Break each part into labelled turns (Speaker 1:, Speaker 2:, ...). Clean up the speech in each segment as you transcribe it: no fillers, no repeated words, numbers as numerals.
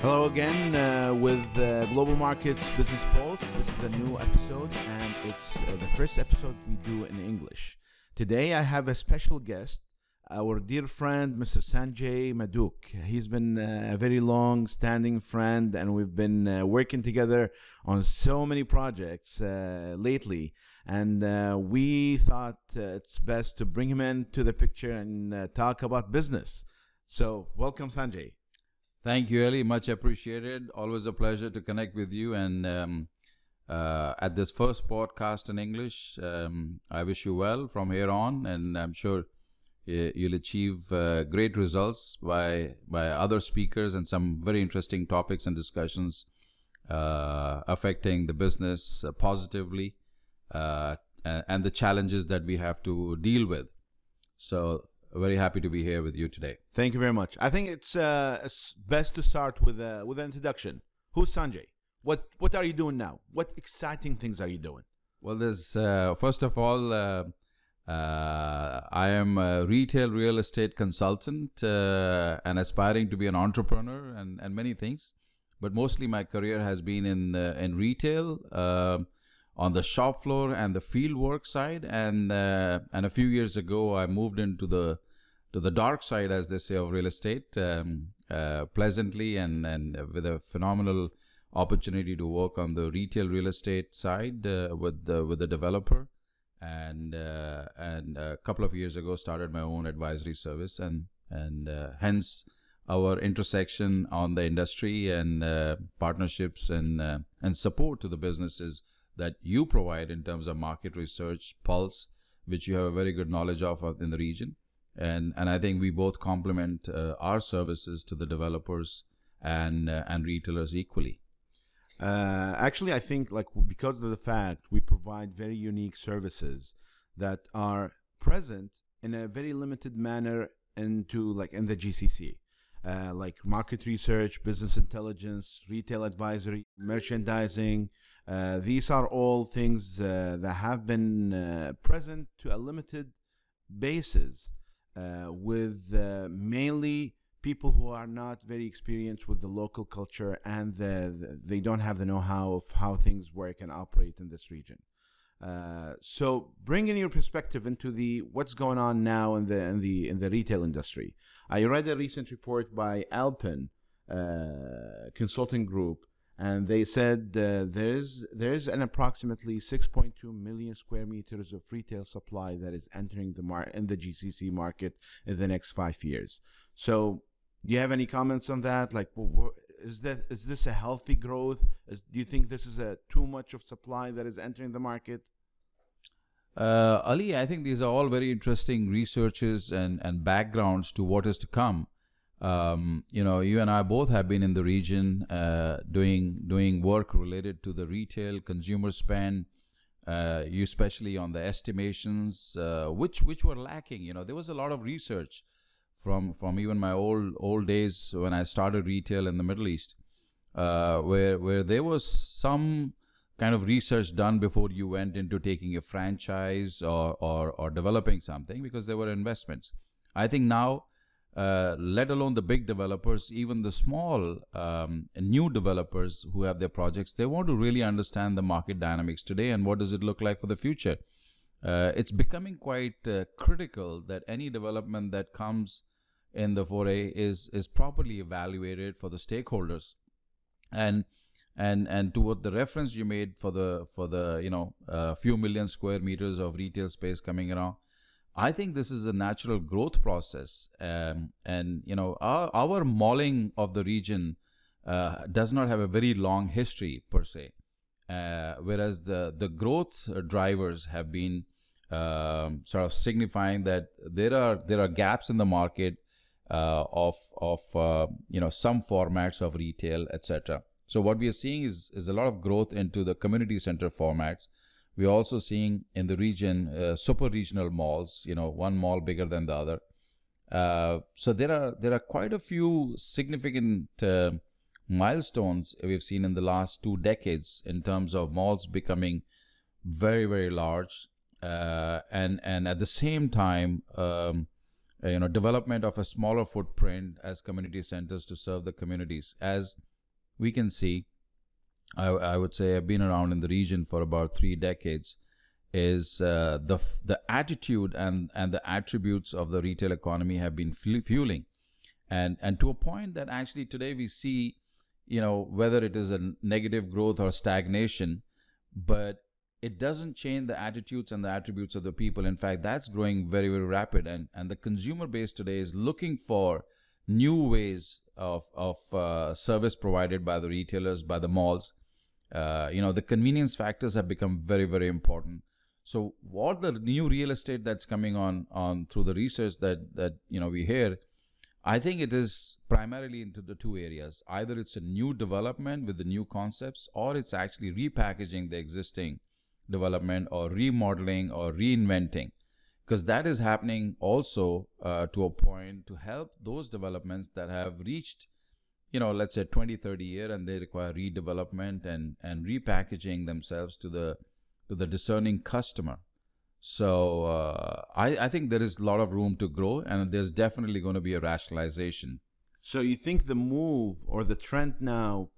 Speaker 1: Hello again with Global Markets Business Pulse. This is a new episode, and it's the first episode we do in English. Today I have a special guest, our dear friend, Mr. Sanjay Maduk. He's been a very long-standing friend, and we've been working together on so many projects lately. And we thought it's best to bring him into the picture and talk about business. So welcome, Sanjay.
Speaker 2: Thank you, Eli. Much appreciated. Always a pleasure to connect with you. And at this first podcast in English, I wish you well from here on. And I'm sure you'll achieve great results by other speakers and some very interesting topics and discussions affecting the business positively and the challenges that we have to deal with. So very happy to be here with you today.
Speaker 1: Thank you very much. I think it's best to start with an introduction. Who's Sanjay? What are you doing now? What exciting things are you doing?
Speaker 2: Well, there's first of all, I am a retail real estate consultant and aspiring to be an entrepreneur and many things. But mostly my career has been in retail, on the shop floor and the field work side, and a few years ago I moved into the dark side, as they say, of real estate, pleasantly and with a phenomenal opportunity to work on the retail real estate side with the developer, and a couple of years ago started my own advisory service, and hence our intersection on the industry and partnerships and support to the businesses that you provide in terms of market research, Pulse, which you have a very good knowledge of in the region. And I think we both complement our services to the developers and retailers equally.
Speaker 1: Actually, I think because of the fact we provide very unique services that are present in a very limited manner in the GCC. Like market research, business intelligence, retail advisory, merchandising. These are all things that have been present to a limited basis with mainly people who are not very experienced with the local culture, and they don't have the know-how of how things work and operate in this region. So bringing your perspective into what's going on now in the retail industry. I read a recent report by Alpin Consulting Group, and they said there's an approximately 6.2 million square meters of retail supply that is entering in the GCC market in the next 5 years. So, do you have any comments on that? Like, is this a healthy growth? Do you think this is too much of supply that is entering the market?
Speaker 2: Ali, I think these are all very interesting researches and backgrounds to what is to come. You and I both have been in the region doing work related to the retail consumer spend, you especially on the estimations, which were lacking. There was a lot of research from even my old days when I started retail in the Middle East, where there was some kind of research done before you went into taking a franchise or developing something, because there were investments. I think now, let alone the big developers, even the small new developers who have their projects, they want to really understand the market dynamics today and what does it look like for the future. It's becoming quite critical that any development that comes in the foray is properly evaluated for the stakeholders, and to what the reference you made for the few million square meters of retail space coming around. I think this is a natural growth process, and our malling of the region does not have a very long history per se, whereas the growth drivers have been sort of signifying that there are gaps in the market of some formats of retail, etc. So what we are seeing is a lot of growth into the community center formats. We're also seeing in the region super regional malls, one mall bigger than the other. So there are quite a few significant milestones we've seen in the last 2 decades in terms of malls becoming very, very large, and at the same time, development of a smaller footprint as community centers to serve the communities. As we can see, I would say I've been around in the region for about 3 decades, is the attitude and the attributes of the retail economy have been fueling, and to a point that actually today we see, whether it is a negative growth or stagnation, but it doesn't change the attitudes and the attributes of the people. In fact, that's growing very, very rapid, and the consumer base today is looking for new ways of service provided by the retailers, by the malls. The convenience factors have become very, very important. So what the new real estate that's coming on through the research that we hear, I think it is primarily into the 2 areas. Either it's a new development with the new concepts, or it's actually repackaging the existing development, or remodeling, or reinventing, because that is happening also to a point to help those developments that have reached, let's say 20, 30 years, and they require redevelopment and repackaging themselves to the discerning customer. So I think there is a lot of room to grow, and there's definitely going to be a rationalization.
Speaker 1: So you think the move or the trend now,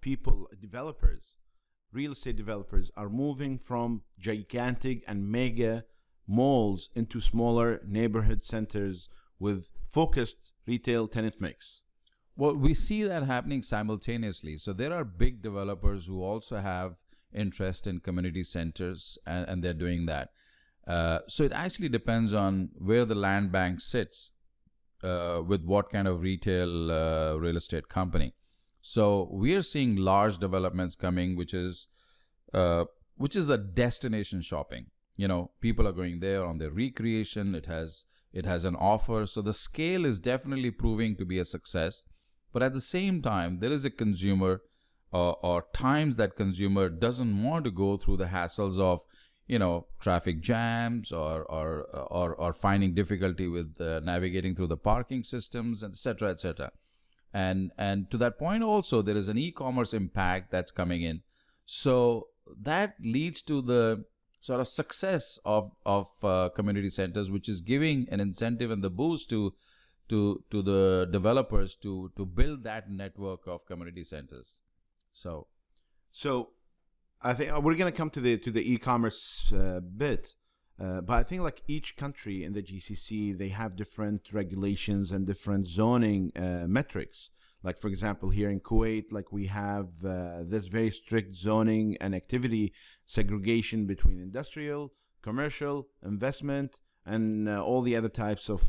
Speaker 1: real estate developers are moving from gigantic and mega malls into smaller neighborhood centers with focused retail tenant mix?
Speaker 2: Well, we see that happening simultaneously. So there are big developers who also have interest in community centers, and they're doing that. So it actually depends on where the land bank sits with what kind of retail real estate company. So we are seeing large developments coming, which is a destination shopping. People are going there on their recreation. It has an offer. So the scale is definitely proving to be a success. But at the same time, there is a consumer or times that consumer doesn't want to go through the hassles of traffic jams or finding difficulty with navigating through the parking systems, etc., etc. And to that point also, there is an e-commerce impact that's coming in. So that leads to the sort of success of community centers, which is giving an incentive and the boost to the developers to build that network of community centers. So
Speaker 1: I think we're going to come to the e-commerce bit, but I think like each country in the GCC, they have different regulations and different zoning metrics. Like, for example, here in Kuwait, like we have this very strict zoning and activity segregation between industrial, commercial, investment, and all the other types of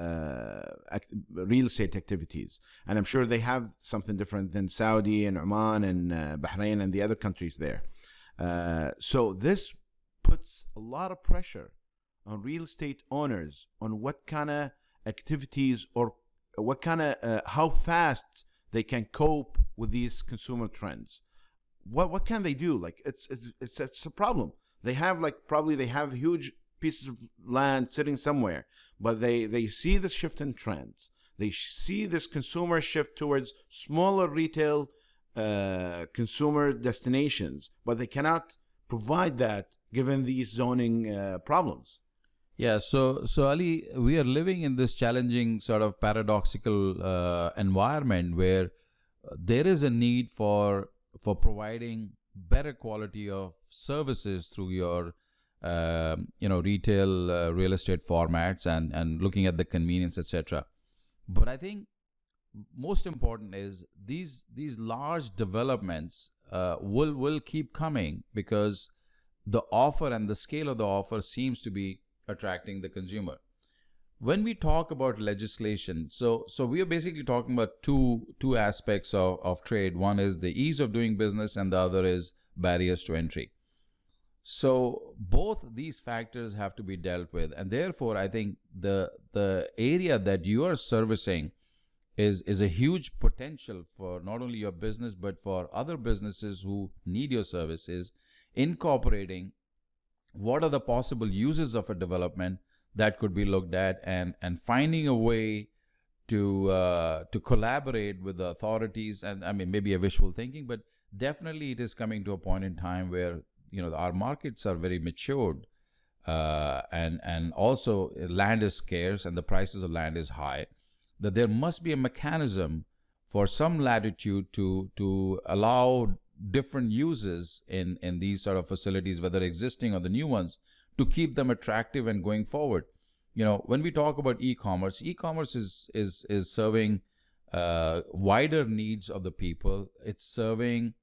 Speaker 1: real estate activities. And I'm sure they have something different than Saudi and Oman and Bahrain and the other countries there. So this puts a lot of pressure on real estate owners on what kind of activities or what kind of how fast they can cope with these consumer trends. What can they do? Like it's a problem. They have they have huge pieces of land sitting somewhere, but they see the shift in trends. They see this consumer shift towards smaller retail consumer destinations, but they cannot provide that given these zoning problems.
Speaker 2: Yeah, so Ali, we are living in this challenging sort of paradoxical environment where there is a need for providing better quality of services through your retail real estate formats and looking at the convenience, etc. But I think most important is these large developments will keep coming because the offer and the scale of the offer seems to be attracting the consumer. When we talk about legislation, so we are basically talking about two aspects of trade. One is the ease of doing business, and the other is barriers to entry. So both these factors have to be dealt with, and therefore I think the area that you are servicing is a huge potential for not only your business but for other businesses who need your services, incorporating what are the possible uses of a development that could be looked at, and finding a way to collaborate with the authorities. And I mean, maybe a wishful thinking, but definitely it is coming to a point in time where our markets are very matured, and also land is scarce and the prices of land is high, that there must be a mechanism for some latitude to allow different uses in these sort of facilities, whether existing or the new ones, to keep them attractive and going forward. When we talk about e-commerce is serving wider needs of the people. It's serving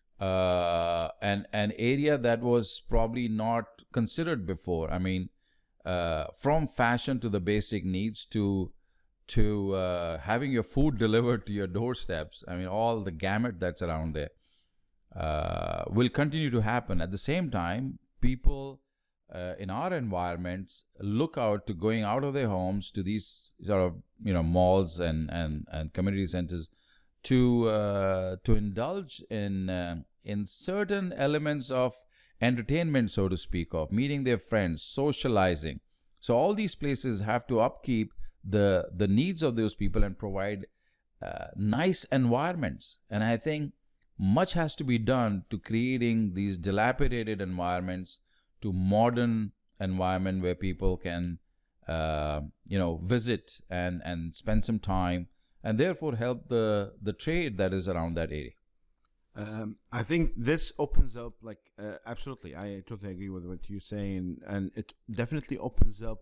Speaker 2: an area that was probably not considered before. I mean, from fashion to the basic needs to having your food delivered to your doorsteps. I mean, all the gamut that's around there will continue to happen. At the same time, people in our environments look out to going out of their homes to these sort of malls and community centers to indulge in certain elements of entertainment, so to speak, of meeting their friends, socializing. So all these places have to upkeep the needs of those people and provide nice environments. And I think much has to be done to creating these dilapidated environments to modern environment where people can visit and spend some time, and therefore help the trade that is around that area.
Speaker 1: I think this opens up, absolutely, I totally agree with what you're saying, and it definitely opens up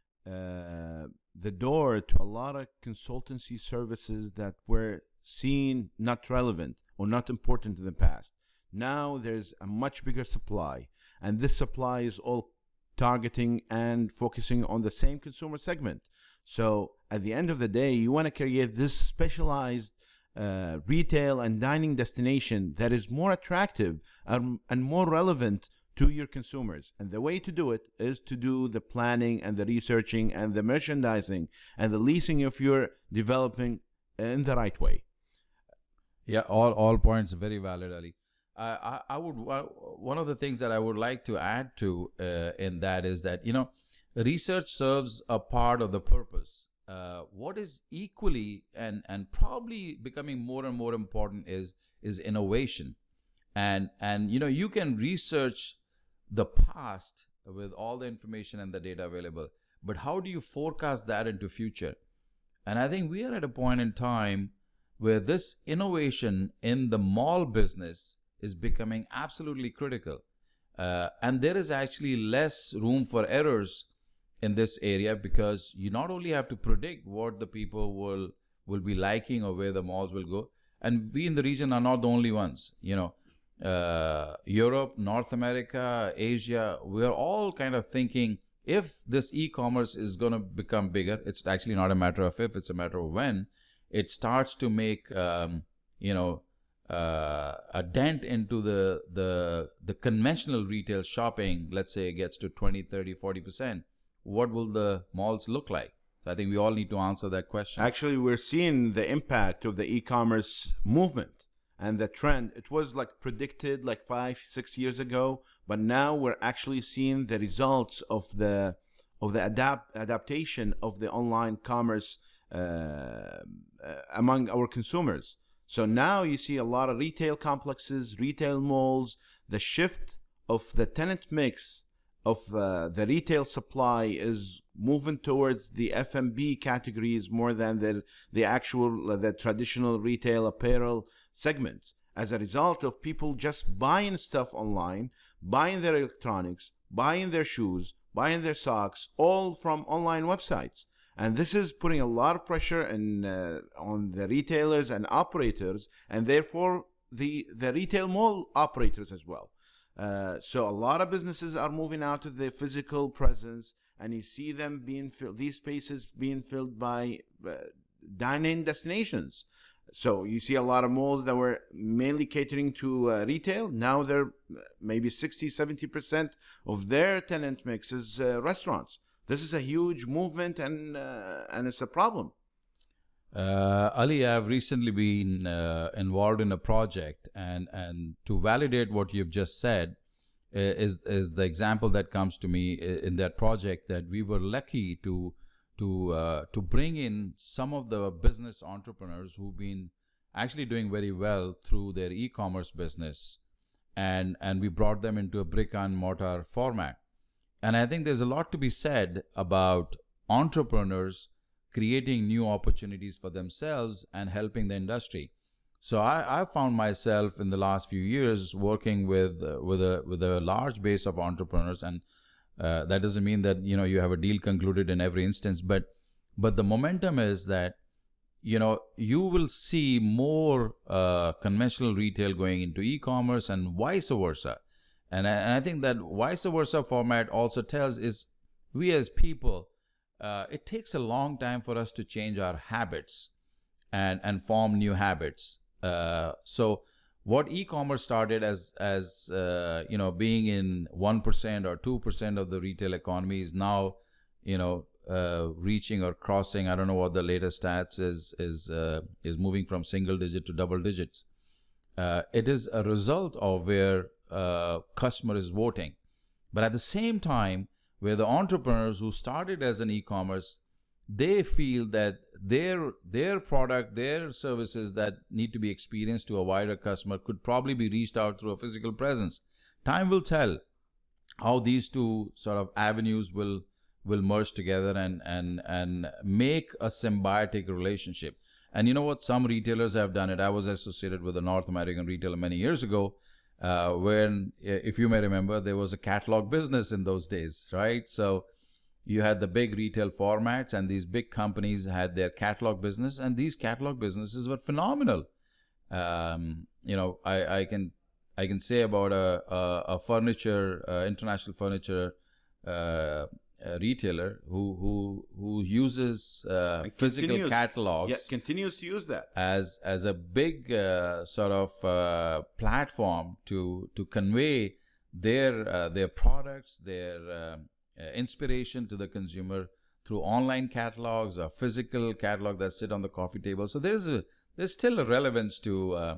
Speaker 1: the door to a lot of consultancy services that were seen not relevant or not important in the past. Now there's a much bigger supply, and this supply is all targeting and focusing on the same consumer segment. So at the end of the day, you want to create this specialized retail and dining destination that is more attractive and more relevant to your consumers. And the way to do it is to do the planning and the researching and the merchandising and the leasing of your developing in the right way.
Speaker 2: Yeah, all points are very valid, Ali. I would one of the things that I would like to add to in that is that research serves a part of the purpose. What is equally and probably becoming more and more important is innovation, and you can research the past with all the information and the data available, but how do you forecast that into future? And I think we are at a point in time where this innovation in the mall business is becoming absolutely critical. And there is actually less room for errors in this area, because you not only have to predict what the people will be liking or where the malls will go, and we in the region are not the only ones. Europe, North America, Asia, we're all kind of thinking, if this e-commerce is going to become bigger, it's actually not a matter of if, it's a matter of when it starts to make a dent into the conventional retail shopping. Let's say it gets to 20, 30, 40%. What will the malls look like? So I think we all need to answer that question.
Speaker 1: Actually, we're seeing the impact of the e-commerce movement and the trend. It was predicted 5-6 years ago, but now we're actually seeing the results of the adaptation of the online commerce among our consumers. So now you see a lot of retail complexes, retail malls, the shift of the tenant mix of the retail supply is moving towards the F&B categories more than the traditional retail apparel segments, as a result of people just buying stuff online, buying their electronics, buying their shoes, buying their socks, all from online websites. And this is putting a lot of pressure on the retailers and operators, and therefore the retail mall operators as well. So a lot of businesses are moving out of their physical presence, and you see them these spaces being filled by dine-in destinations. So you see a lot of malls that were mainly catering to retail. Now they're maybe 60-70% of their tenant mix is restaurants. This is a huge movement, and it's a problem.
Speaker 2: Ali, I've recently been involved in a project, and to validate what you've just said is the example that comes to me in that project, that we were lucky to bring in some of the business entrepreneurs who've been actually doing very well through their e-commerce business, and we brought them into a brick and mortar format. And I think there's a lot to be said about entrepreneurs creating new opportunities for themselves and helping the industry. So I found myself in the last few years working with a large base of entrepreneurs, and that doesn't mean that you have a deal concluded in every instance, but the momentum is that you will see more conventional retail going into e-commerce and vice versa, and I think that vice versa format also tells is we as people, it takes a long time for us to change our habits and form new habits. So what e-commerce started as being in 1% or 2% of the retail economy is now reaching or crossing, I don't know what the latest stats is moving from single digit to double digits. It is a result of where customer is voting, but at the same time where the entrepreneurs who started as an e-commerce, they feel that their product, their services that need to be experienced to a wider customer could probably be reached out through a physical presence. Time will tell how these two sort of avenues will merge together and make a symbiotic relationship. And you know what? Some retailers have done it. I was associated with a North American retailer many years ago, when, if you may remember, there was a catalog business in those days, right? So you had the big retail formats, and these big companies had their catalog business, and these catalog businesses were phenomenal. I can say about a furniture, international furniture retailer who uses physical catalogs,
Speaker 1: continues to use that
Speaker 2: as a big sort of platform to convey their products, their inspiration to the consumer through online catalogs or physical catalog that sit on the coffee table. So there's still a relevance to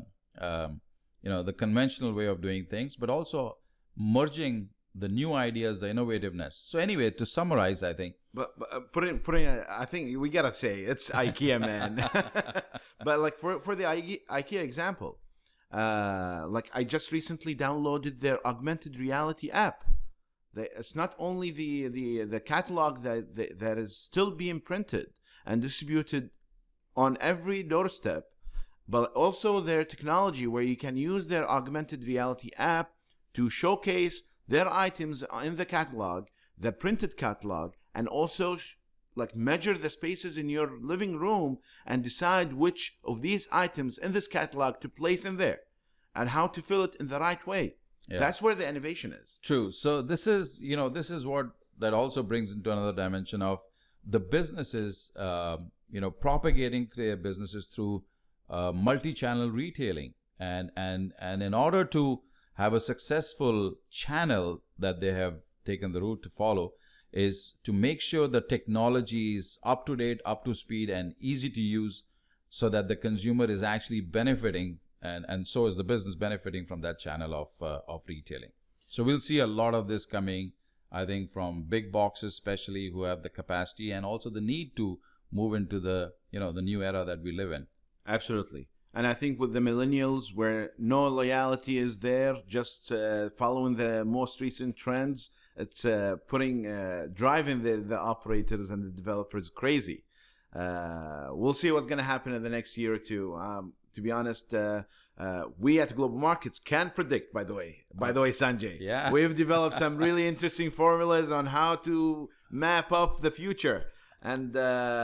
Speaker 2: the conventional way of doing things, but also merging the new ideas, the innovativeness. So anyway, to summarize, I think.
Speaker 1: But putting, I think we gotta say it's IKEA, man. But like for the IKEA example, like I just recently downloaded their augmented reality app. It's not only the catalog that is still being printed and distributed on every doorstep, but also their technology where you can use their augmented reality app to showcase their items in the catalog, the printed catalog, and also like measure the spaces in your living room and decide which of these items in this catalog to place in there and how to fill it in the right way. Yeah. That's where the innovation is.
Speaker 2: True. So this is what that also brings into another dimension of the businesses, propagating their businesses through multi-channel retailing, and in order to have a successful channel that they have taken the route to follow is to make sure the technology is up to date, up to speed, and easy to use, so that the consumer is actually benefiting, and so is the business benefiting from that channel of retailing. So we'll see a lot of this coming, I think, from big boxes, especially, who have the capacity and also the need to move into the new era that we live in.
Speaker 1: Absolutely. And I think with the millennials, where no loyalty is there, just following the most recent trends, it's driving the operators and the developers crazy. We'll see what's going to happen in the next year or two. To be honest, we at Global Markets can predict, by the way, Sanjay.
Speaker 2: Yeah.
Speaker 1: We've developed some really interesting formulas on how to map up the future. And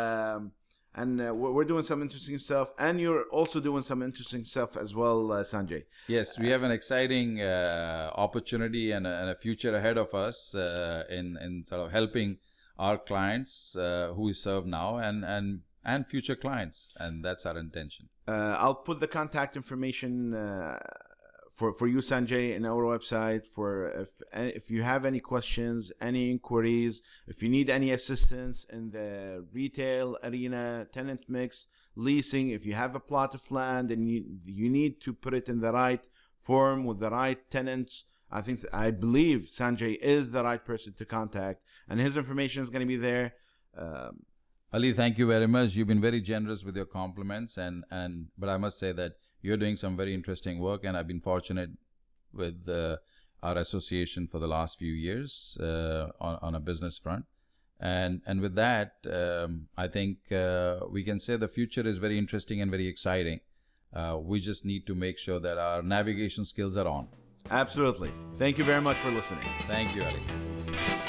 Speaker 1: we're doing some interesting stuff, and you're also doing some interesting stuff as well, Sanjay.
Speaker 2: Yes, we have an exciting opportunity and a future ahead of us in sort of helping our clients who we serve now and future clients, and that's our intention.
Speaker 1: I'll put the contact information for you, Sanjay, in our website. For if you have any questions, any inquiries, if you need any assistance in the retail arena, tenant mix, leasing, if you have a plot of land and you need to put it in the right form with the right tenants, I believe Sanjay is the right person to contact, and his information is going to be there.
Speaker 2: Ali, thank you very much. You've been very generous with your compliments, but I must say that you're doing some very interesting work, and I've been fortunate with our association for the last few years on a business front. And with that, I think we can say the future is very interesting and very exciting. We just need to make sure that our navigation skills are on.
Speaker 1: Absolutely. Thank you very much for listening.
Speaker 2: Thank you, Ali.